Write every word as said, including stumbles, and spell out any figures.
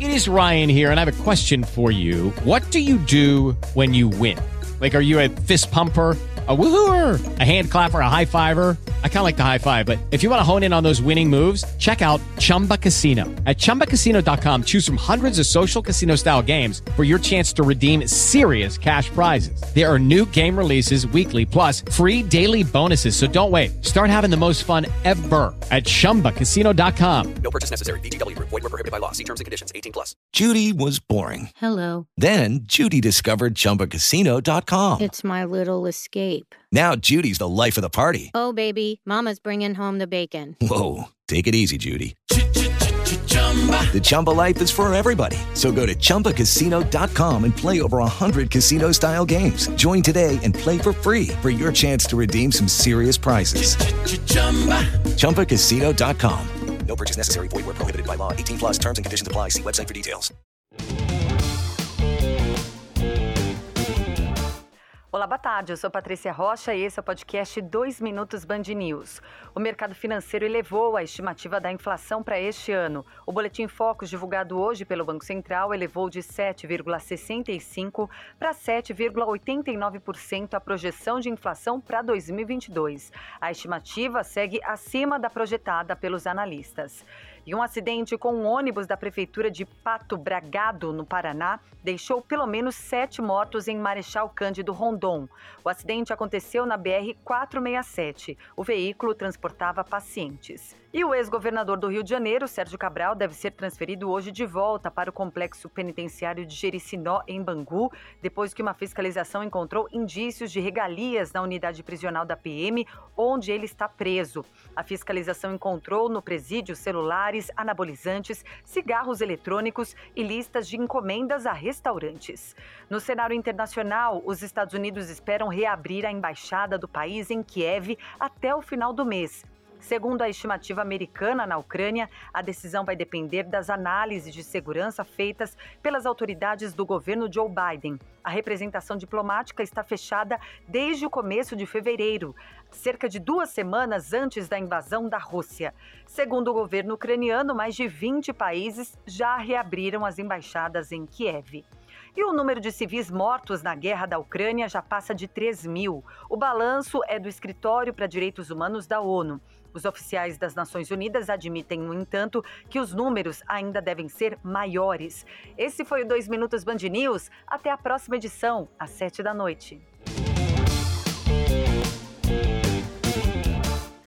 It is Ryan here, and I have a question for you. What do you do when you win? Like, are you a fist pumper, a woohooer, a hand clapper, a high fiver? I kind of like the high five, but if you want to hone in on those winning moves, check out Chumba Casino. At chumba casino dot com, choose from hundreds of social casino style games for your chance to redeem serious cash prizes. There are new game releases weekly, plus free daily bonuses. So don't wait. Start having the most fun ever at chumba casino dot com. No purchase necessary. V G W Group. Void where prohibited by law. See terms and conditions. eighteen plus. Judy was boring. Hello. Then Judy discovered chumba casino dot com. It's my little escape. Now Judy's the life of the party. Oh, baby, mama's bringing home the bacon. Whoa, take it easy, Judy. The Chumba life is for everybody. So go to chumba casino dot com and play over one hundred casino-style games. Join today and play for free for your chance to redeem some serious prizes. chumba casino dot com. No purchase necessary. Void where prohibited by law. eighteen plus terms and conditions apply. See website for details. Olá, boa tarde. Eu sou Patrícia Rocha e esse é o podcast dois Minutos Band News. O mercado financeiro elevou a estimativa da inflação para este ano. O Boletim Focus, divulgado hoje pelo Banco Central, elevou de sete vírgula sessenta e cinco por cento para sete vírgula oitenta e nove por cento a projeção de inflação para dois mil e vinte e dois. A estimativa segue acima da projetada pelos analistas. E um acidente com um ônibus da Prefeitura de Pato Bragado, no Paraná, deixou pelo menos sete mortos em Marechal Cândido Rondon. O acidente aconteceu na B R quatrocentos e sessenta e sete. O veículo transportava pacientes. E o ex-governador do Rio de Janeiro, Sérgio Cabral, deve ser transferido hoje de volta para o complexo penitenciário de Jericinó, em Bangu, depois que uma fiscalização encontrou indícios de regalias na unidade prisional da P M, onde ele está preso. A fiscalização encontrou no presídio celulares, anabolizantes, cigarros eletrônicos e listas de encomendas a restaurantes. No cenário internacional, os Estados Unidos esperam reabrir a embaixada do país em Kiev até o final do mês. Segundo a estimativa americana na Ucrânia, a decisão vai depender das análises de segurança feitas pelas autoridades do governo Joe Biden. A representação diplomática está fechada desde o começo de fevereiro, cerca de duas semanas antes da invasão da Rússia. Segundo o governo ucraniano, mais de vinte países já reabriram as embaixadas em Kiev. E o número de civis mortos na guerra da Ucrânia já passa de três mil. O balanço é do Escritório para Direitos Humanos da ONU. Os oficiais das Nações Unidas admitem, no entanto, que os números ainda devem ser maiores. Esse foi o dois Minutos Band News. Até a próxima edição, às sete da noite.